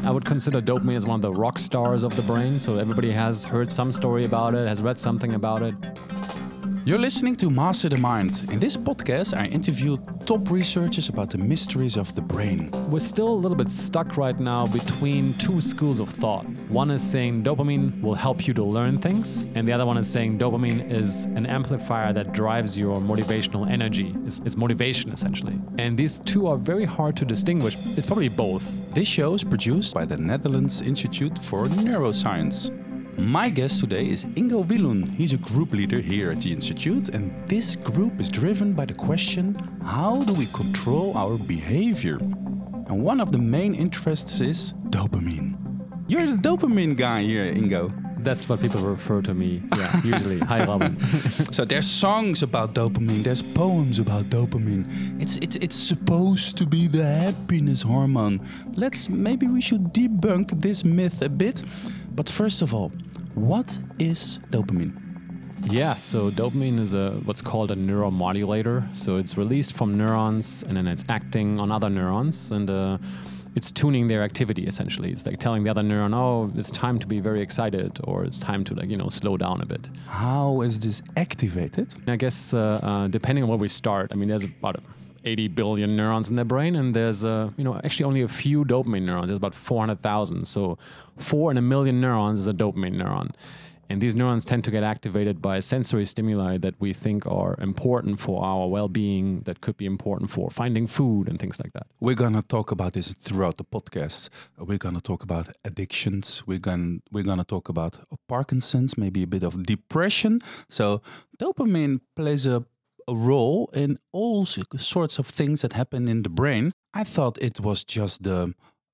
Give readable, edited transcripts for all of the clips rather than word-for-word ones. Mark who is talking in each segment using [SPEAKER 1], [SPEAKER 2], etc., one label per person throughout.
[SPEAKER 1] I would consider dopamine as one of the rock stars of the brain. So everybody has heard some story about it, has read something about it.
[SPEAKER 2] You're listening to Master the Mind. In this podcast, I interview top researchers about the mysteries of the brain.
[SPEAKER 1] We're still a little bit stuck right now between two schools of thought. One is saying dopamine will help you to learn things, and the other one is saying dopamine is an amplifier that drives your motivational energy. It's motivation, essentially. And these two are very hard to distinguish. It's probably both.
[SPEAKER 2] This show is produced by the Netherlands Institute for Neuroscience. My guest today is Ingo Wilun. He's a group leader here at the Institute, and this group is driven by the question, how do we control our behavior? And one of the main interests is dopamine. You're the dopamine guy here, Ingo.
[SPEAKER 1] That's what people refer to me, usually. Hi, Robin.
[SPEAKER 2] So there's songs about dopamine, there's poems about dopamine. It's supposed to be the happiness hormone. Maybe we should debunk this myth a bit. But first of all, what is dopamine?
[SPEAKER 1] Yeah, so dopamine is what's called a neuromodulator. So it's released from neurons and then it's acting on other neurons and it's tuning their activity essentially. It's like telling the other neuron, oh, it's time to be very excited or it's time to slow down a bit.
[SPEAKER 2] How is this activated?
[SPEAKER 1] I guess depending on where we start, I mean, there's about 80 billion neurons in the brain, and there's actually only a few dopamine neurons. There's about 400,000. So 4 in a million neurons is a dopamine neuron. And these neurons tend to get activated by sensory stimuli that we think are important for our well-being, that could be important for finding food and things like that.
[SPEAKER 2] We're going to talk about this throughout the podcast. We're going to talk about addictions. We're going to talk about Parkinson's, maybe a bit of depression. So dopamine plays a role in all sorts of things that happen in the brain. I thought it was just the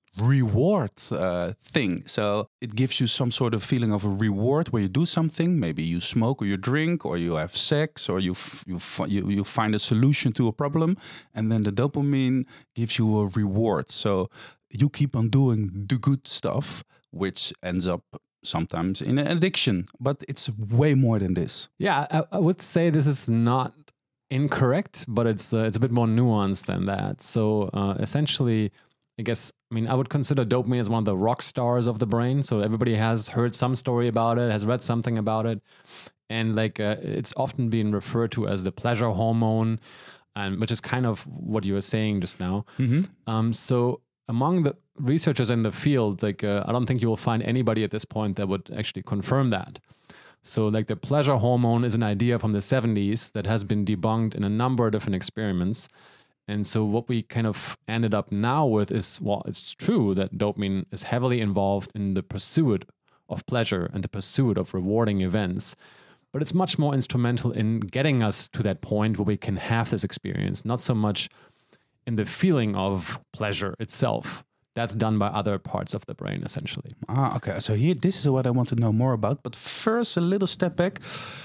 [SPEAKER 2] reward thing. So it gives you some sort of feeling of a reward where you do something. Maybe you smoke or you drink or you have sex or you find a solution to a problem. And then the dopamine gives you a reward. So you keep on doing the good stuff, which ends up sometimes in an addiction. But it's way more than this.
[SPEAKER 1] Yeah, I would say this is not incorrect, but it's a bit more nuanced than that. So essentially, I would consider dopamine as one of the rock stars of the brain. So everybody has heard some story about it, has read something about it. And it's often been referred to as the pleasure hormone, and which is kind of what you were saying just now. Mm-hmm. So among the researchers in the field, I don't think you will find anybody at this point that would actually confirm that. So the pleasure hormone is an idea from the 70s that has been debunked in a number of different experiments. And so what we kind of ended up now with is, well, it's true that dopamine is heavily involved in the pursuit of pleasure and the pursuit of rewarding events. But it's much more instrumental in getting us to that point where we can have this experience, not so much in the feeling of pleasure itself. That's done by other parts of the brain, essentially.
[SPEAKER 2] Okay. So this is what I want to know more about. But first, a little step back.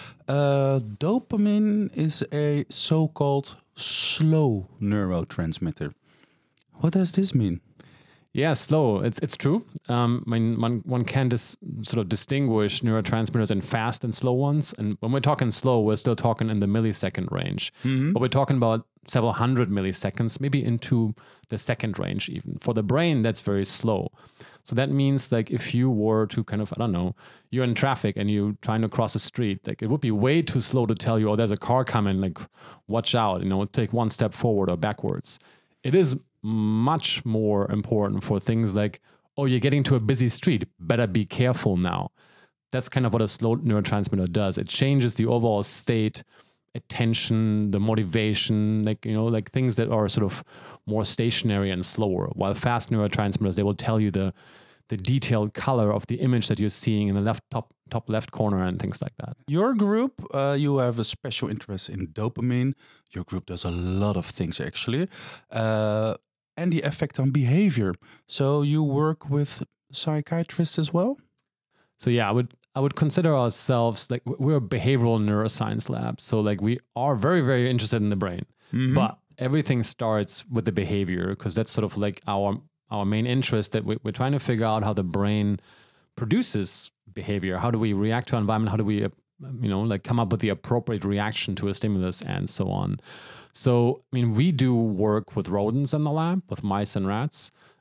[SPEAKER 2] Dopamine is a so-called slow neurotransmitter. What does this mean?
[SPEAKER 1] Yeah, slow. It's true. One can sort of distinguish neurotransmitters in fast and slow ones. And when we're talking slow, we're still talking in the millisecond range. Mm-hmm. But we're talking about several hundred milliseconds, maybe into the second range even. For the brain, that's very slow. So that means if you were to you're in traffic and you're trying to cross a street, it would be way too slow to tell you, oh, there's a car coming, watch out, take one step forward or backwards. It is much more important for things like, oh, you're getting to a busy street, better be careful now. That's kind of what a slow neurotransmitter does. It changes the overall state, attention, the motivation, things that are sort of more stationary and slower. While fast neurotransmitters, they will tell you the detailed color of the image that you're seeing in the top left corner and things like that.
[SPEAKER 2] Your group, you have a special interest in dopamine. Your group does a lot of things actually, and the effect on behavior. So you work with psychiatrists as well?
[SPEAKER 1] So yeah, I would consider ourselves we're a behavioral neuroscience lab. So we are very, very interested in the brain, mm-hmm. but everything starts with the behavior because that's sort of our main interest, that we're trying to figure out how the brain produces behavior. How do we react to our environment? How do we, come up with the appropriate reaction to a stimulus and so on. So, we do work with rodents in the lab, with mice and rats.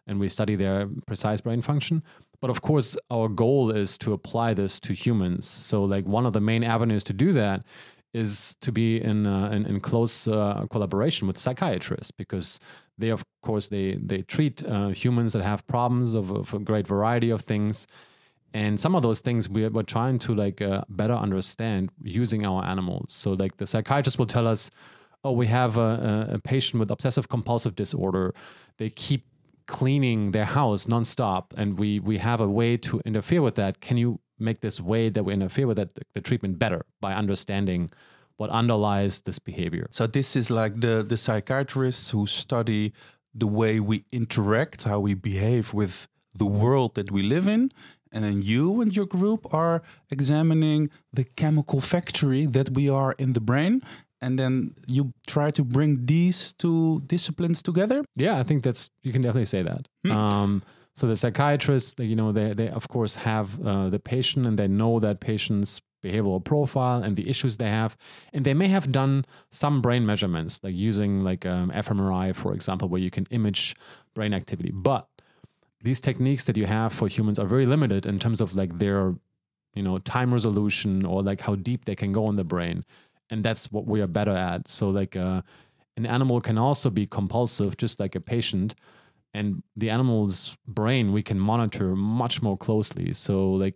[SPEAKER 1] and we study their precise brain function. But of course, our goal is to apply this to humans. So like one of the main avenues to do that is to be in close collaboration with psychiatrists, because they, of course, they treat humans that have problems of a great variety of things. And some of those things we're trying to like better understand using our animals. So like the psychiatrist will tell us, oh, we have a patient with obsessive compulsive disorder. They keep cleaning their house nonstop, and we have a way to interfere with that. Can you make this way that we interfere with that, the treatment better by understanding what underlies this behavior?
[SPEAKER 2] So this is like the psychiatrists who study the way we interact, how we behave with the world that we live in. And then you and your group are examining the chemical factory that we are in the brain. And then you try to bring these two disciplines together?
[SPEAKER 1] Yeah, I think you can definitely say that. So the psychiatrists, they of course have the patient, and they know that patient's behavioral profile and the issues they have. And they may have done some brain measurements, like using like fMRI, for example, where you can image brain activity. But these techniques that you have for humans are very limited in terms of like their, time resolution, or like how deep they can go in the brain. And that's what we are better at. So like an animal can also be compulsive, just like a patient. And the animal's brain we can monitor much more closely. So like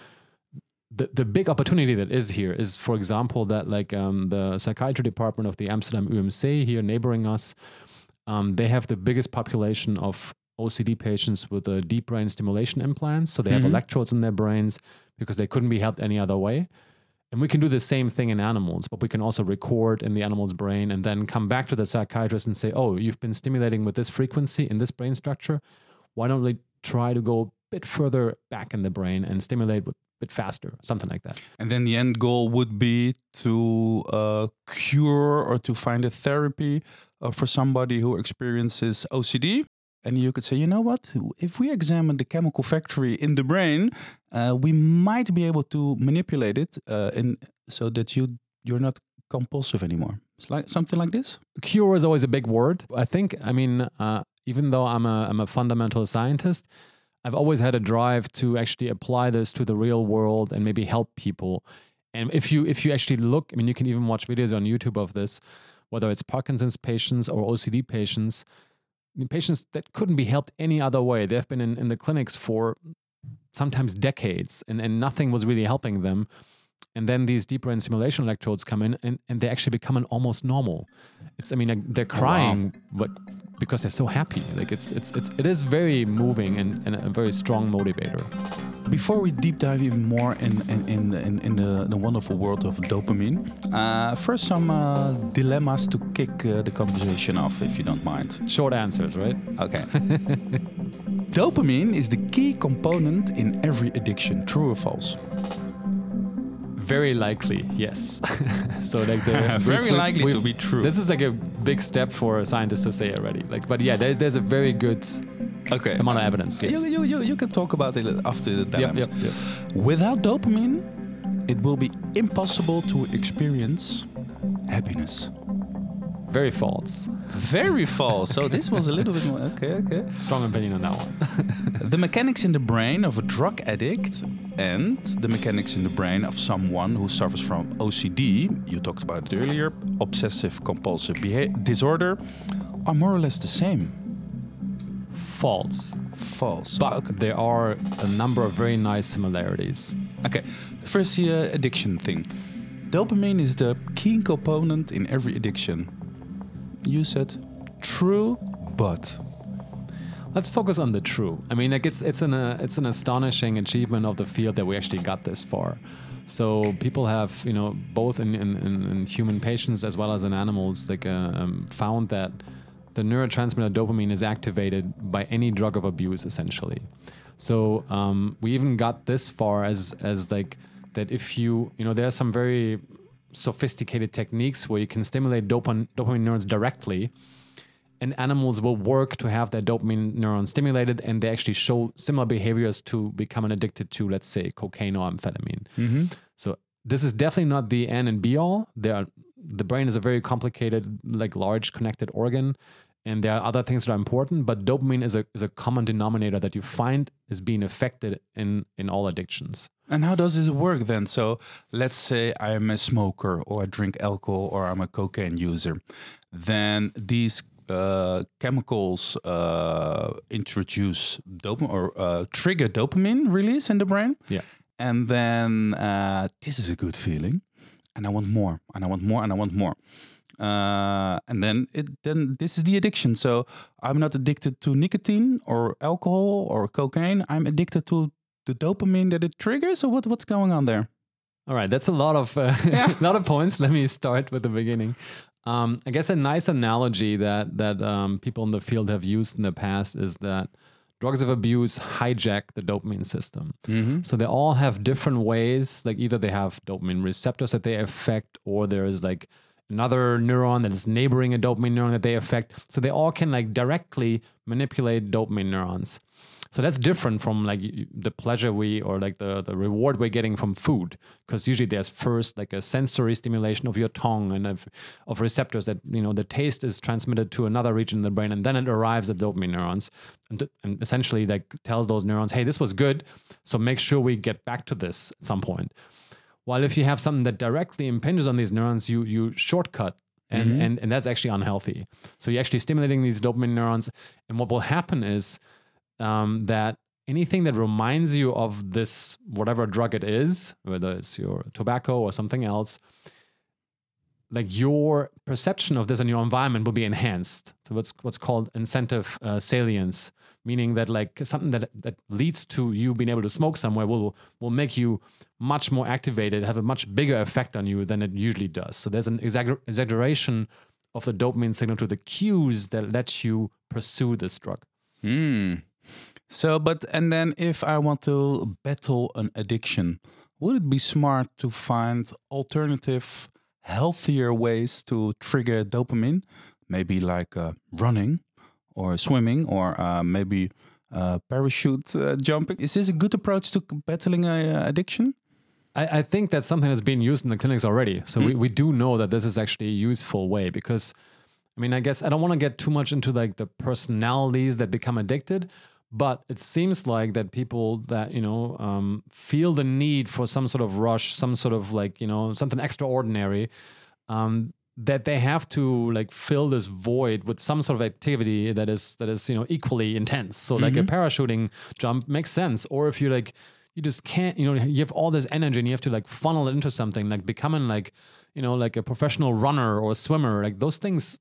[SPEAKER 1] the big opportunity that is here is, for example, that like the psychiatry department of the Amsterdam UMC here neighboring us, they have the biggest population of OCD patients with deep brain stimulation implants. So they have electrodes in their brains because they couldn't be helped any other way. And we can do the same thing in animals, but we can also record in the animal's brain and then come back to the psychiatrist and say, oh, you've been stimulating with this frequency in this brain structure. Why don't we try to go a bit further back in the brain and stimulate a bit faster, something like that.
[SPEAKER 2] And then the end goal would be to cure or to find a therapy for somebody who experiences OCD. And you could say, you know what, if we examine the chemical factory in the brain, we might be able to manipulate it so that you're not compulsive anymore. It's like something like this.
[SPEAKER 1] Cure is always a big word. I think, even though I'm a fundamental scientist, I've always had a drive to actually apply this to the real world and maybe help people. And if you actually look, you can even watch videos on YouTube of this, whether it's Parkinson's patients or OCD patients, the patients that couldn't be helped any other way. They've been in the clinics for sometimes decades, and nothing was really helping them. And then these deep brain stimulation electrodes come in, and they actually become almost normal. They're crying, but because they're so happy. Like it is very moving and a very strong motivator.
[SPEAKER 2] Before we deep dive even more in the wonderful world of dopamine, first some dilemmas to kick the conversation off, if you don't mind.
[SPEAKER 1] Short answers, right?
[SPEAKER 2] Okay. Dopamine is the key component in every addiction. True or false?
[SPEAKER 1] Very likely, yes. So like
[SPEAKER 2] very likely to be true.
[SPEAKER 1] This is like a big step for scientists to say already. But yeah, there's a very good amount of evidence. Yes.
[SPEAKER 2] You can talk about it after the dilemmas.
[SPEAKER 1] Yep.
[SPEAKER 2] Without dopamine, it will be impossible to experience happiness.
[SPEAKER 1] Very false.
[SPEAKER 2] Very false. So this was a little bit more... Okay.
[SPEAKER 1] Strong opinion on that one.
[SPEAKER 2] The mechanics in the brain of a drug addict and the mechanics in the brain of someone who suffers from OCD, you talked about it earlier, obsessive compulsive disorder, are more or less the same.
[SPEAKER 1] False.
[SPEAKER 2] But
[SPEAKER 1] there are a number of very nice similarities.
[SPEAKER 2] Okay. First, the addiction thing. Dopamine is the key component in every addiction. You said true, but
[SPEAKER 1] let's focus on the true. It's an astonishing achievement of the field that we actually got this far. So people have, both in human patients as well as in animals, found that the neurotransmitter dopamine is activated by any drug of abuse, essentially. So we even got this far as that if there are some very sophisticated techniques where you can stimulate dopamine neurons directly, and animals will work to have their dopamine neuron stimulated, and they actually show similar behaviors to becoming addicted to, let's say, cocaine or amphetamine. Mm-hmm. So this is definitely not the end and be all. The brain is a very complicated, large connected organ, and there are other things that are important, but dopamine is a common denominator that you find is being affected in all addictions.
[SPEAKER 2] And how does this work then? So let's say I'm a smoker, or I drink alcohol, or I'm a cocaine user. Then these chemicals introduce dopamine, or trigger dopamine release in the brain.
[SPEAKER 1] Yeah.
[SPEAKER 2] And then this is a good feeling, and I want more, and I want more, and I want more. And then this is the addiction. So I'm not addicted to nicotine or alcohol or cocaine. I'm addicted to the dopamine that it triggers. Or what's going on there?
[SPEAKER 1] All right, that's a lot of lot of points. Let me start with the beginning. I guess a nice analogy that people in the field have used in the past is that drugs of abuse hijack the dopamine system. So they all have different ways. Like either they have dopamine receptors that they affect, or there is like another neuron that is neighboring a dopamine neuron that they affect. So they all can like directly manipulate dopamine neurons. So that's different from like the pleasure or like the reward we're getting from food, because usually there's first like a sensory stimulation of your tongue and of receptors that, the taste is transmitted to another region in the brain, and then it arrives at dopamine neurons and essentially like tells those neurons, hey, this was good, so make sure we get back to this at some point. While if you have something that directly impinges on these neurons, you shortcut. And that's actually unhealthy. So you're actually stimulating these dopamine neurons, and what will happen is that anything that reminds you of this, whatever drug it is, whether it's your tobacco or something else, like your perception of this in your environment will be enhanced. So what's called incentive salience, meaning that like something that leads to you being able to smoke somewhere will make you much more activated, have a much bigger effect on you than it usually does. So there's an exaggeration of the dopamine signal to the cues that let you pursue this drug.
[SPEAKER 2] So, and then if I want to battle an addiction, would it be smart to find alternative, healthier ways to trigger dopamine? Maybe like running or swimming, or maybe parachute jumping. Is this a good approach to battling addiction?
[SPEAKER 1] I think that's something that's being used in the clinics already. So we do know that this is actually a useful way, because, I mean, I guess I don't want to get too much into like the personalities that become addicted, but it seems like that people that, feel the need for some sort of rush, some sort of like, something extraordinary, that they have to like fill this void with some sort of activity that is equally intense. So like a parachuting jump makes sense. Or if you just can't, you have all this energy and you have to like funnel it into something, like becoming like, like a professional runner or a swimmer, like those things,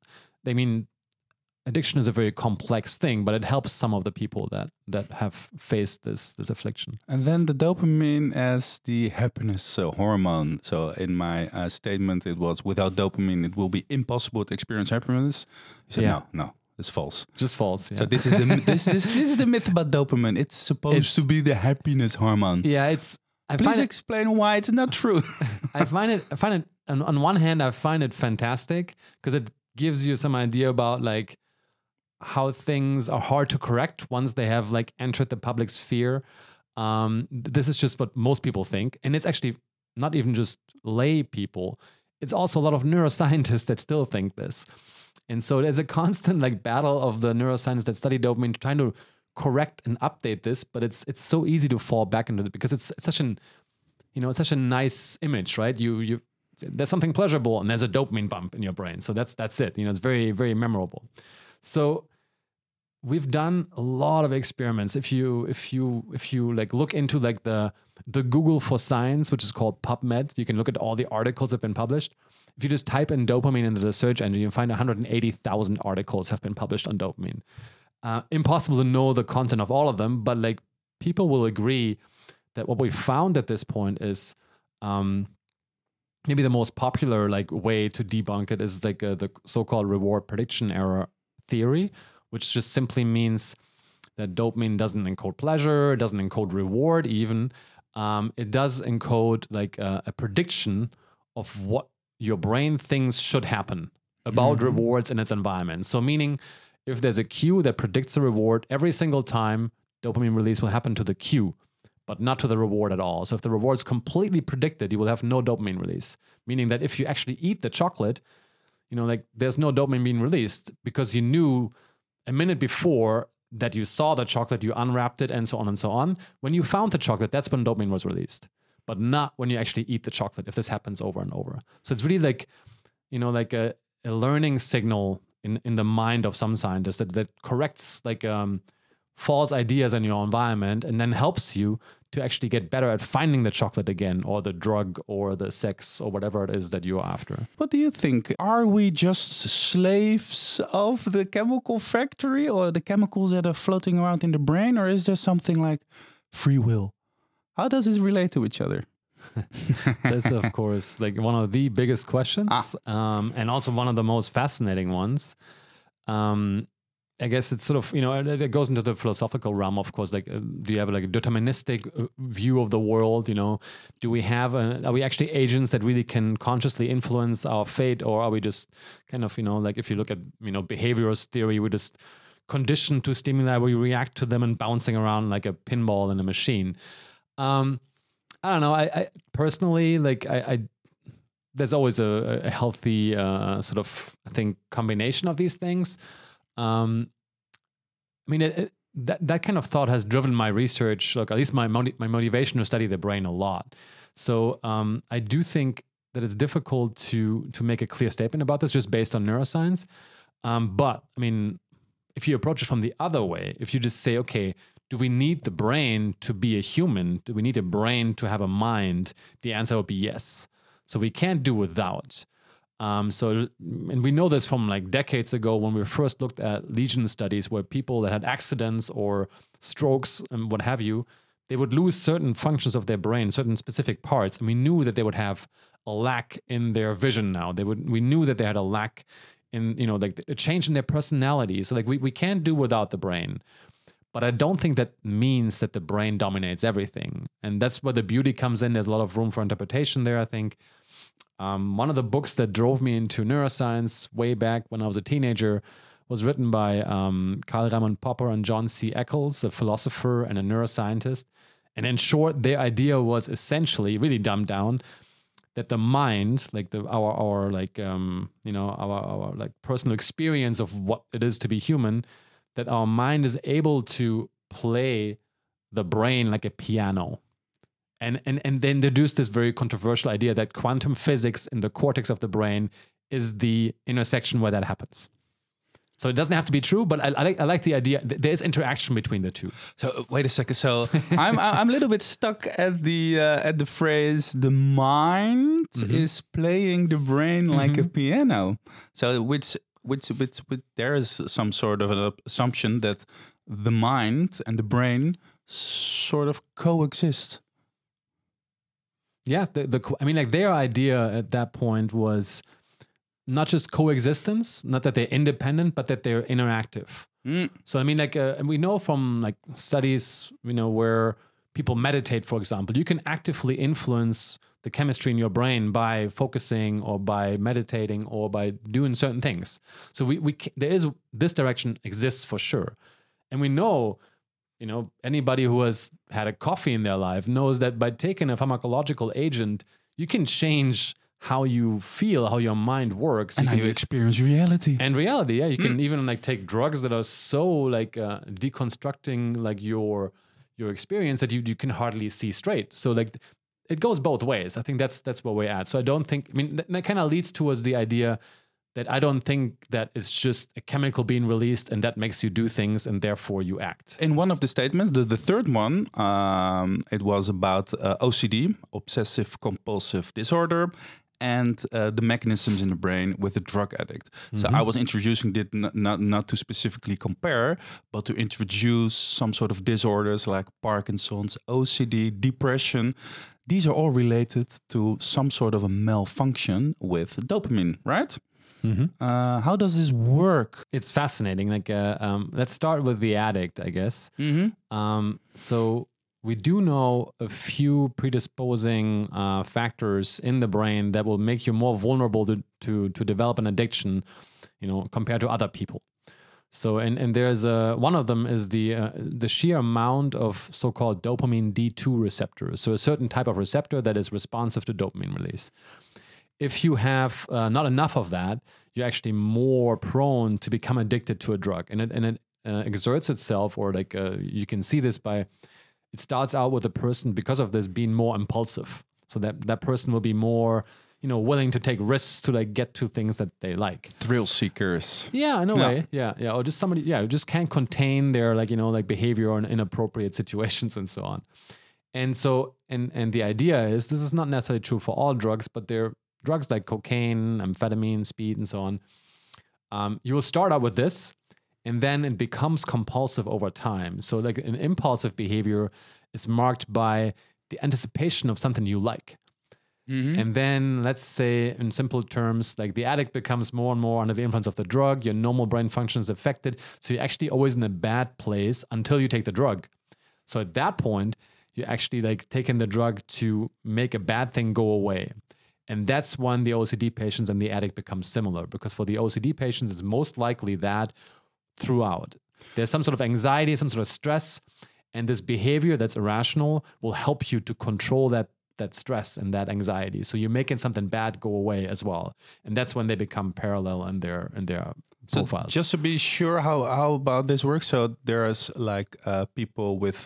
[SPEAKER 1] addiction is a very complex thing, but it helps some of the people that have faced this affliction.
[SPEAKER 2] And then the dopamine as the happiness hormone. So in my statement, it was, without dopamine, it will be impossible to experience happiness. You said, no, it's false.
[SPEAKER 1] Just false. Yeah.
[SPEAKER 2] So this is the this is the myth about dopamine. It's supposed to be the happiness hormone.
[SPEAKER 1] Yeah,
[SPEAKER 2] Please explain why it's not true.
[SPEAKER 1] I find it on one hand, I find it fantastic because it gives you some idea about like how things are hard to correct once they have like entered the public sphere. This is just what most people think. And it's actually not even just lay people. It's also a lot of neuroscientists that still think this. And so there's a constant like battle of the neuroscientists that study dopamine trying to correct and update this, but it's so easy to fall back into it because it's such a nice image, right? You there's something pleasurable and there's a dopamine bump in your brain. So that's it. It's very, very memorable. So we've done a lot of experiments. If you like look into like the Google for Science, which is called PubMed, you can look at all the articles that have been published. If you just type in dopamine into the search engine, you find 180,000 articles have been published on dopamine. Impossible to know the content of all of them, but like people will agree that what we found at this point is maybe the most popular like way to debunk it is like the so-called reward prediction error theory, which just simply means that dopamine doesn't encode pleasure, it doesn't encode reward even. It does encode like a prediction of what your brain thinks should happen about rewards in its environment. So meaning if there's a cue that predicts a reward, every single time dopamine release will happen to the cue, but not to the reward at all. So if the reward's completely predicted, you will have no dopamine release. Meaning that if you actually eat the chocolate, like there's no dopamine being released because you knew a minute before that you saw the chocolate, you unwrapped it, and so on and so on. When you found the chocolate, that's when dopamine was released, but not when you actually eat the chocolate, if this happens over and over. So it's really like, like a learning signal in the mind of some scientists that corrects like false ideas in your environment and then helps you to actually get better at finding the chocolate again, or the drug, or the sex, or whatever it is that you're after.
[SPEAKER 2] What do you think? Are we just slaves of the chemical factory or the chemicals that are floating around in the brain? Or is there something like free will? How does this relate to each other?
[SPEAKER 1] That's, of course, like one of the biggest questions, and also one of the most fascinating ones. I guess it's sort of, it goes into the philosophical realm, of course. Like, do you have like a deterministic view of the world? Do we have, are we actually agents that really can consciously influence our fate? Or are we just kind of, like if you look at, behaviorist theory, we're just conditioned to stimuli, we react to them and bouncing around like a pinball in a machine. I don't know. I personally, like, there's always a healthy sort of, I think, combination of these things. That kind of thought has driven my research, like at least my motivation to study the brain a lot. So I do think that it's difficult to make a clear statement about this just based on neuroscience. But I mean, if you approach it from the other way, if you just say, okay, do we need the brain to be a human? Do we need a brain to have a mind? The answer would be yes. So we can't do without. And we know this from like decades ago when we first looked at lesion studies where people that had accidents or strokes and what have you, they would lose certain functions of their brain, certain specific parts. And we knew that they would have a lack in their vision now. We knew that they had a lack in, like a change in their personality. So like we can't do without the brain. But I don't think that means that the brain dominates everything. And that's where the beauty comes in. There's a lot of room for interpretation there, I think. One of the books that drove me into neuroscience way back when I was a teenager was written by Karl Raimund Popper and John C. Eccles, a philosopher and a neuroscientist. And in short, their idea was essentially, really dumbed down, that the mind, like our personal experience of what it is to be human, that our mind is able to play the brain like a piano. And then introduced this very controversial idea that quantum physics in the cortex of the brain is the intersection where that happens. So it doesn't have to be true, but I like the idea. There's interaction between the two.
[SPEAKER 2] So wait a second. So I'm a little bit stuck at the phrase "the mind is playing the brain like a piano." So which there is some sort of an assumption that the mind and the brain sort of coexist.
[SPEAKER 1] Yeah, their idea at that point was not just coexistence, not that they're independent, but that they're interactive. So and we know from like studies, where people meditate, for example, you can actively influence the chemistry in your brain by focusing or by meditating or by doing certain things. So this direction exists for sure, and we know. Anybody who has had a coffee in their life knows that by taking a pharmacological agent, you can change how you feel, how your mind works.
[SPEAKER 2] And how you experience reality.
[SPEAKER 1] And reality, yeah. You can even like take drugs that are so like deconstructing like your experience that you can hardly see straight. So like it goes both ways. I think that's where we're at. So I don't think, that kind of leads towards the idea that I don't think that it's just a chemical being released and that makes you do things and therefore you act.
[SPEAKER 2] In one of the statements, the third one, it was about OCD, obsessive compulsive disorder, and the mechanisms in the brain with the drug addict. So I was introducing it not to specifically compare, but to introduce some sort of disorders like Parkinson's, OCD, depression. These are all related to some sort of a malfunction with dopamine, right? How does this work?
[SPEAKER 1] It's fascinating. Like, let's start with the addict, I guess. So we do know a few predisposing factors in the brain that will make you more vulnerable to develop an addiction, compared to other people. So, and there's one of them is the sheer amount of so-called dopamine D2 receptors. So a certain type of receptor that is responsive to dopamine release. if you have not enough of that, you're actually more prone to become addicted to a drug, and it exerts itself, or like you can see this by, it starts out with a person because of this being more impulsive, so that person will be more, willing to take risks to like get to things that they like.
[SPEAKER 2] Thrill seekers.
[SPEAKER 1] Yeah, in a way. Yeah. Or just somebody, who just can't contain their like behavior in inappropriate situations and so on. And so, and the idea is, this is not necessarily true for all drugs, but they're drugs like cocaine, amphetamine, speed, and so on. You will start out with this, and then it becomes compulsive over time. So like an impulsive behavior is marked by the anticipation of something you like. Mm-hmm. And then, let's say in simple terms, like the addict becomes more and more under the influence of the drug, your normal brain function is affected. So you're actually always in a bad place until you take the drug. So at that point, you're actually like taking the drug to make a bad thing go away. And that's when the OCD patients and the addict become similar, because for the OCD patients, it's most likely that throughout there's some sort of anxiety, some sort of stress, and this behavior that's irrational will help you to control that stress and that anxiety. So you're making something bad go away as well. And that's when they become parallel in their profiles.
[SPEAKER 2] Just to be sure how about this works. So there's like people with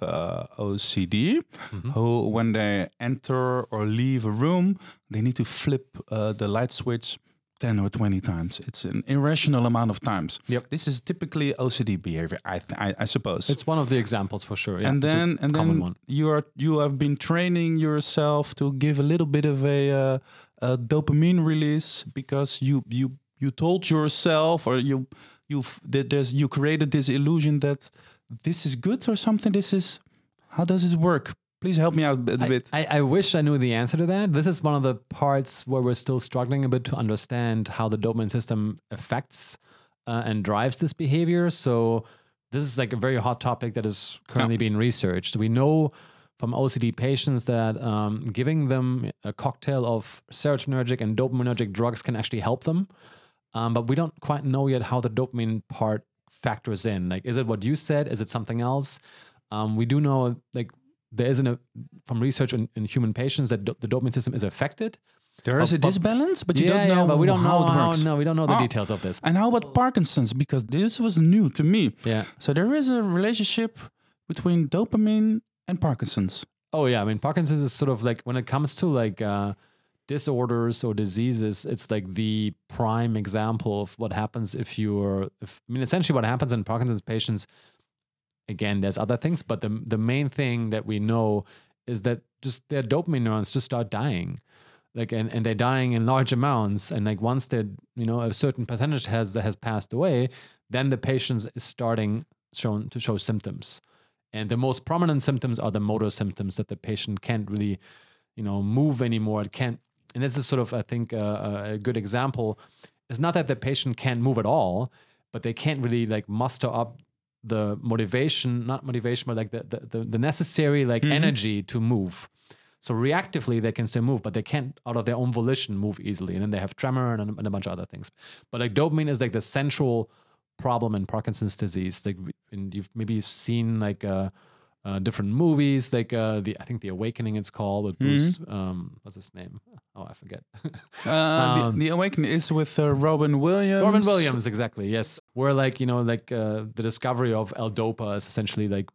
[SPEAKER 2] OCD who, when they enter or leave a room, they need to flip the light switch 10 or 20 times. It's an irrational amount of times.
[SPEAKER 1] Yep.
[SPEAKER 2] This is typically OCD behavior, I suppose.
[SPEAKER 1] It's one of the examples for sure. Yeah.
[SPEAKER 2] And then you have been training yourself to give a little bit of a dopamine release, because you told yourself, or you created this illusion that this is good or something. How does this work? Please help me out a bit.
[SPEAKER 1] I wish I knew the answer to that. This is one of the parts where we're still struggling a bit to understand how the dopamine system affects and drives this behavior. So this is like a very hot topic that is currently being researched. We know from OCD patients that giving them a cocktail of serotonergic and dopaminergic drugs can actually help them. But we don't quite know yet how the dopamine part factors in. Like, is it what you said? Is it something else? We do know, like, there isn't from research in human patients that the dopamine system is affected.
[SPEAKER 2] There is a disbalance, but you don't know
[SPEAKER 1] but we don't
[SPEAKER 2] how
[SPEAKER 1] know
[SPEAKER 2] it works.
[SPEAKER 1] No, we don't know the details of this.
[SPEAKER 2] And how about Parkinson's? Because this was new to me.
[SPEAKER 1] Yeah.
[SPEAKER 2] So there is a relationship between dopamine and Parkinson's.
[SPEAKER 1] Oh yeah, I mean, Parkinson's is sort of like, when it comes to like disorders or diseases, it's like the prime example of what happens essentially what happens in Parkinson's patients. Again, there's other things, but the main thing that we know is that just their dopamine neurons just start dying, like, and they're dying in large amounts. And like, once they're, a certain percentage has passed away, then the patient is starting to show symptoms. And the most prominent symptoms are the motor symptoms, that the patient can't really, move anymore. It can't, and this is sort of, I think, a good example. It's not that the patient can't move at all, but they can't really like muster up the not motivation, but like the necessary like energy to move. So reactively they can still move, but they can't out of their own volition move easily. And then they have tremor and a bunch of other things. But like dopamine is like the central problem in Parkinson's disease. Like, and you've maybe seen like different movies, like I think The Awakening it's called, with Bruce, what's his name? Oh, I forget.
[SPEAKER 2] The Awakening is with Robin Williams.
[SPEAKER 1] Robin Williams, exactly, yes. Where like, the discovery of L-Dopa is essentially like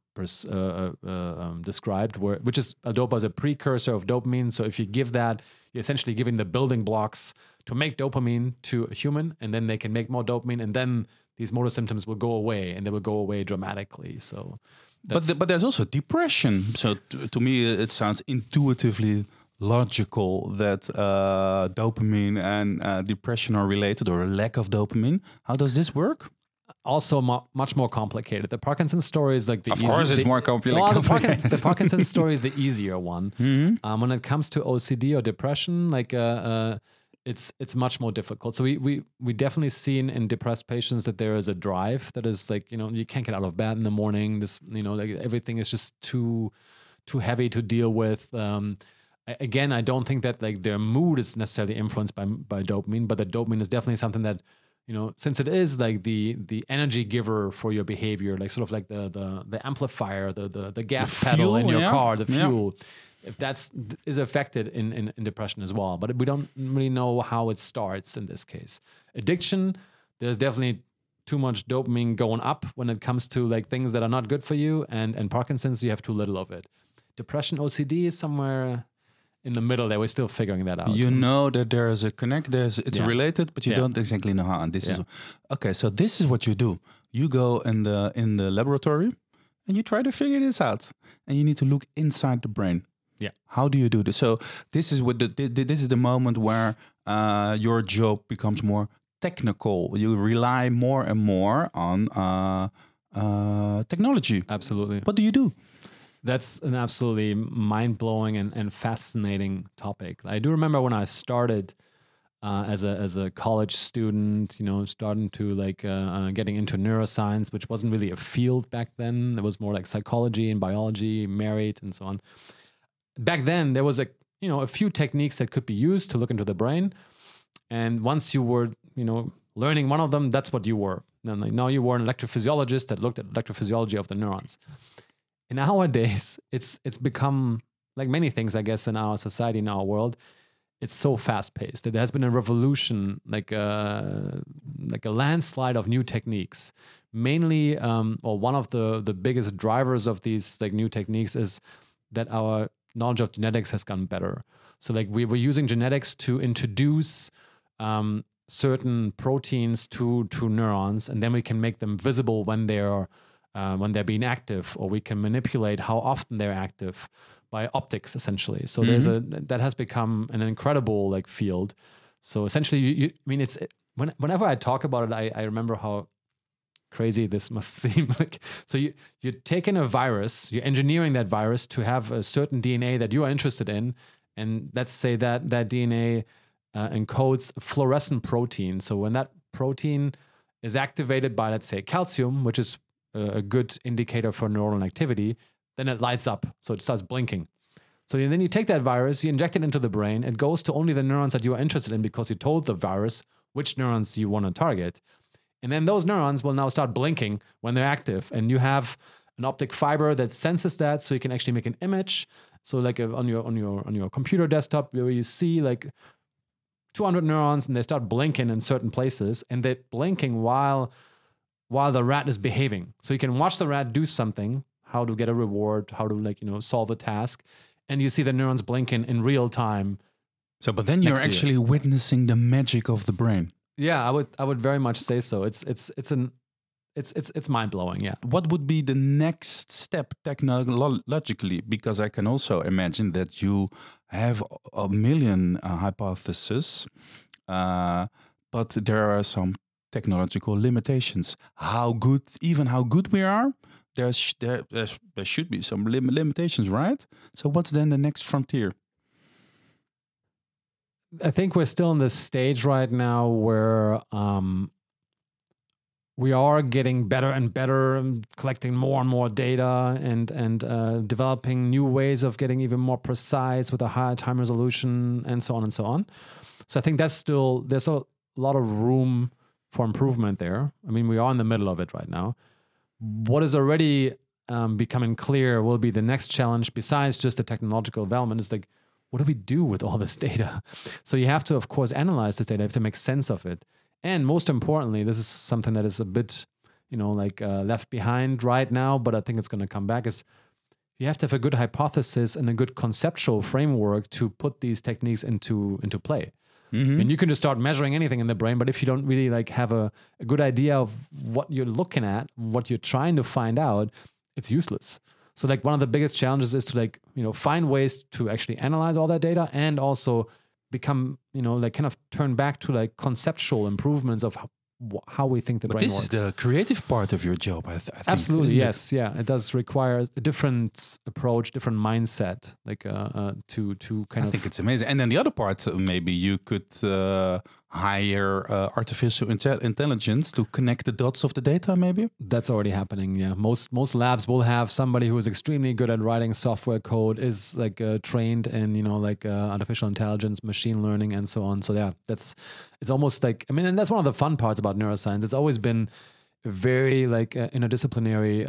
[SPEAKER 1] described, which is L-Dopa is a precursor of dopamine. So if you give that, you're essentially giving the building blocks to make dopamine to a human, and then they can make more dopamine, and then these motor symptoms will go away, and they will go away dramatically. So
[SPEAKER 2] but there's also depression. So to me, it sounds intuitively logical that dopamine and depression are related, or a lack of dopamine. How does this work?
[SPEAKER 1] Also much more complicated. The Parkinson's story is like the
[SPEAKER 2] easier. Of course, it's more complicated.
[SPEAKER 1] The Parkinson's story is the easier one. Mm-hmm. When it comes to OCD or depression, like it's much more difficult. So we definitely seen in depressed patients that there is a drive that is like, you can't get out of bed in the morning. This, like everything is just too heavy to deal with. Again, I don't think that like their mood is necessarily influenced by dopamine, but the dopamine is definitely something that, since it is like the energy giver for your behavior, like sort of like the amplifier, the gas pedal in your car, the fuel, if is affected in depression as well. But we don't really know how it starts in this case. Addiction, there's definitely too much dopamine going up when it comes to like things that are not good for you, and Parkinson's, you have too little of it. Depression, OCD is somewhere in the middle there. We're still figuring that out.
[SPEAKER 2] You know that there is a connect. It's related, but you don't exactly know how. And this is okay. So this is what you do. You go in the laboratory and you try to figure this out. And you need to look inside the brain.
[SPEAKER 1] Yeah.
[SPEAKER 2] How do you do this? So this is this is the moment where your job becomes more technical. You rely more and more on technology.
[SPEAKER 1] Absolutely.
[SPEAKER 2] What do you do?
[SPEAKER 1] That's an absolutely mind-blowing and fascinating topic. I do remember when I started as a college student, starting to getting into neuroscience, which wasn't really a field back then. It was more like psychology and biology, married and so on. Back then, there was a few techniques that could be used to look into the brain. And once you were, learning one of them, that's what you were. And now you were an electrophysiologist that looked at electrophysiology of the neurons. And nowadays, it's become like many things, I guess, in our society, in our world. It's so fast paced that there has been a revolution, like a landslide of new techniques. Mainly, or one of the biggest drivers of these like new techniques is that our knowledge of genetics has gotten better. So like we were using genetics to introduce certain proteins to neurons, and then we can make them visible when they're being active, or we can manipulate how often they're active by optics, essentially. So that has become an incredible like field. So essentially, whenever I talk about it, I remember how crazy this must seem. Like, so you're taking a virus, you're engineering that virus to have a certain DNA that you are interested in, and let's say that DNA encodes fluorescent protein. So when that protein is activated by, let's say, calcium, which is a good indicator for neuronal activity, then it lights up. So it starts blinking. So then you take that virus, you inject it into the brain. It goes to only the neurons that you are interested in because you told the virus which neurons you want to target. And then those neurons will now start blinking when they're active. And you have an optic fiber that senses that, so you can actually make an image. So like on your computer desktop, where you see like 200 neurons and they start blinking in certain places, and they're blinking while the rat is behaving. So you can watch the rat do something, how to get a reward, how to solve a task, and you see the neurons blinking in real time.
[SPEAKER 2] So, but then you're actually witnessing the magic of the brain.
[SPEAKER 1] Yeah, I would very much say so. It's mind blowing. Yeah.
[SPEAKER 2] What would be the next step technologically? Because I can also imagine that you have a million hypotheses, but there are some technological limitations. How good we are, there should be some limitations, right? So what's then the next frontier?
[SPEAKER 1] I think we're still in this stage right now where we are getting better and better, collecting more and more data, and developing new ways of getting even more precise with a higher time resolution, and so on and so on. So I think there's a lot of room for improvement there. I mean, we are in the middle of it right now. What is already becoming clear will be the next challenge, besides just the technological development, is like, what do we do with all this data? So you have to, of course, analyze this data. You have to make sense of it. And most importantly, this is something that is a bit, left behind right now, but I think it's going to come back, is you have to have a good hypothesis and a good conceptual framework to put these techniques into play. Mm-hmm. And you can just start measuring anything in the brain, but if you don't really have a good idea of what you're looking at, what you're trying to find out, it's useless. So one of the biggest challenges is to find ways to actually analyze all that data, and also become, kind of turn back to conceptual improvements of how we think the brain works.
[SPEAKER 2] But this is the creative part of your job, I think.
[SPEAKER 1] Absolutely, yes. Yeah, it does require a different approach, different mindset, to kind of...
[SPEAKER 2] I think it's amazing. And then the other part, maybe you could hire artificial intelligence to connect the dots of the data, maybe?
[SPEAKER 1] That's already happening. Yeah, most labs will have somebody who is extremely good at writing software code, is like trained in artificial intelligence, machine learning, and so on. So yeah, it's almost like, I mean, and that's one of the fun parts about neuroscience. It's always been a very interdisciplinary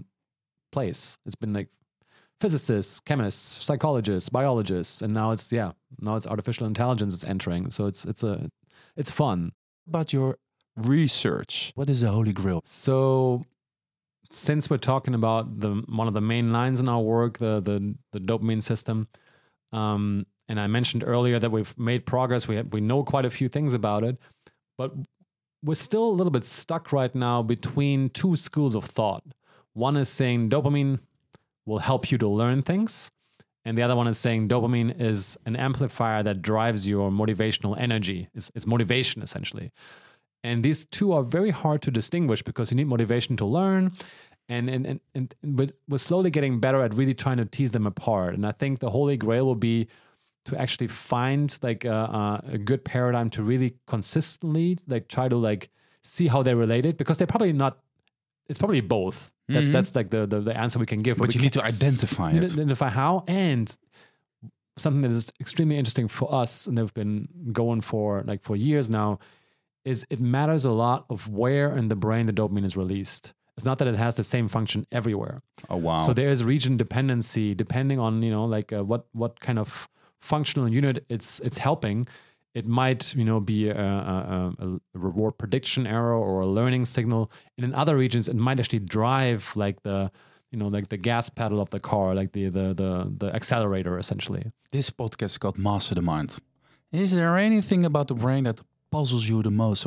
[SPEAKER 1] place. It's been like physicists, chemists, psychologists, biologists, and now it's artificial intelligence is entering. So it's fun.
[SPEAKER 2] About your research, what is the Holy Grail?
[SPEAKER 1] So since we're talking about one of the main lines in our work, the dopamine system, and I mentioned earlier that we've made progress. We know quite a few things about it, but we're still a little bit stuck right now between two schools of thought. One is saying dopamine will help you to learn things, and the other one is saying dopamine is an amplifier that drives your motivational energy. It's motivation, essentially. And these two are very hard to distinguish because you need motivation to learn, and we're slowly getting better at really trying to tease them apart. And I think the Holy Grail will be to actually find like a good paradigm to really consistently like try to like see how they're related, because they're probably not. It's probably both. That's like the answer we can give.
[SPEAKER 2] But you need to identify it.
[SPEAKER 1] Identify how, and something that is extremely interesting for us, and they've been going for years now, is it matters a lot of where in the brain the dopamine is released. It's not that it has the same function everywhere.
[SPEAKER 2] Oh wow!
[SPEAKER 1] So there is region dependency depending on what kind of functional unit it's helping. It might, be a reward prediction error or a learning signal. And in other regions, it might actually drive like the gas pedal of the car, like the accelerator, essentially.
[SPEAKER 2] This podcast got Master the Mind. Is there anything about the brain that puzzles you the most,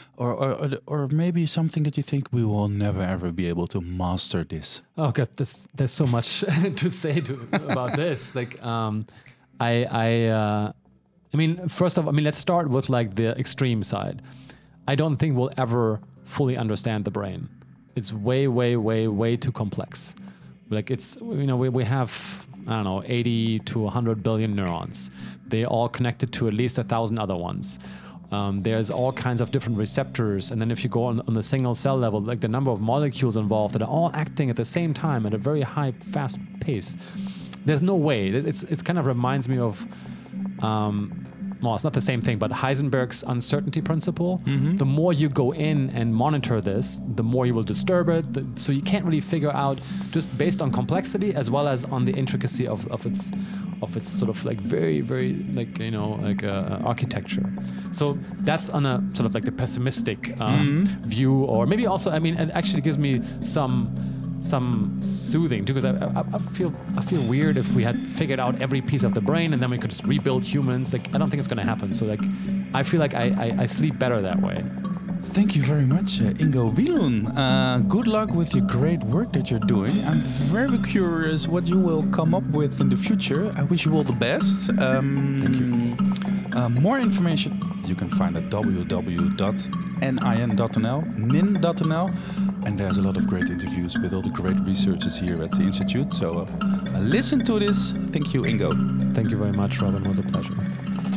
[SPEAKER 2] or maybe something that you think we will never ever be able to master this?
[SPEAKER 1] Oh God, there's so much to say about this. Like, first off, let's start with like the extreme side. I don't think we'll ever fully understand the brain. It's way, way, way, way too complex. Like it's, we have, 80 to 100 billion neurons. They all connected to at least 1,000 other ones. There's all kinds of different receptors. And then if you go on the single cell level, like the number of molecules involved that are all acting at the same time at a very high, fast pace. There's no way. It's kind of reminds me of, it's not the same thing, but Heisenberg's uncertainty principle. Mm-hmm. The more you go in and monitor this, the more you will disturb it. So you can't really figure out, just based on complexity as well as on the intricacy of its sort of like very, very architecture. So that's on a sort of like the pessimistic view, or maybe also, it actually gives me some soothing too, because I feel weird if we had figured out every piece of the brain and then we could just rebuild humans. Like, I don't think it's going to happen. So like, I feel like I sleep better that way.
[SPEAKER 2] Thank you very much, Ingo Wielun. Good luck with your great work that you're doing. I'm very curious what you will come up with in the future. I wish you all the best.
[SPEAKER 1] Thank you.
[SPEAKER 2] More information you can find at www.nin.nl, and there's a lot of great interviews with all the great researchers here at the Institute. So listen to this. Thank you, Ingo.
[SPEAKER 1] Thank you very much, Robin. It was a pleasure.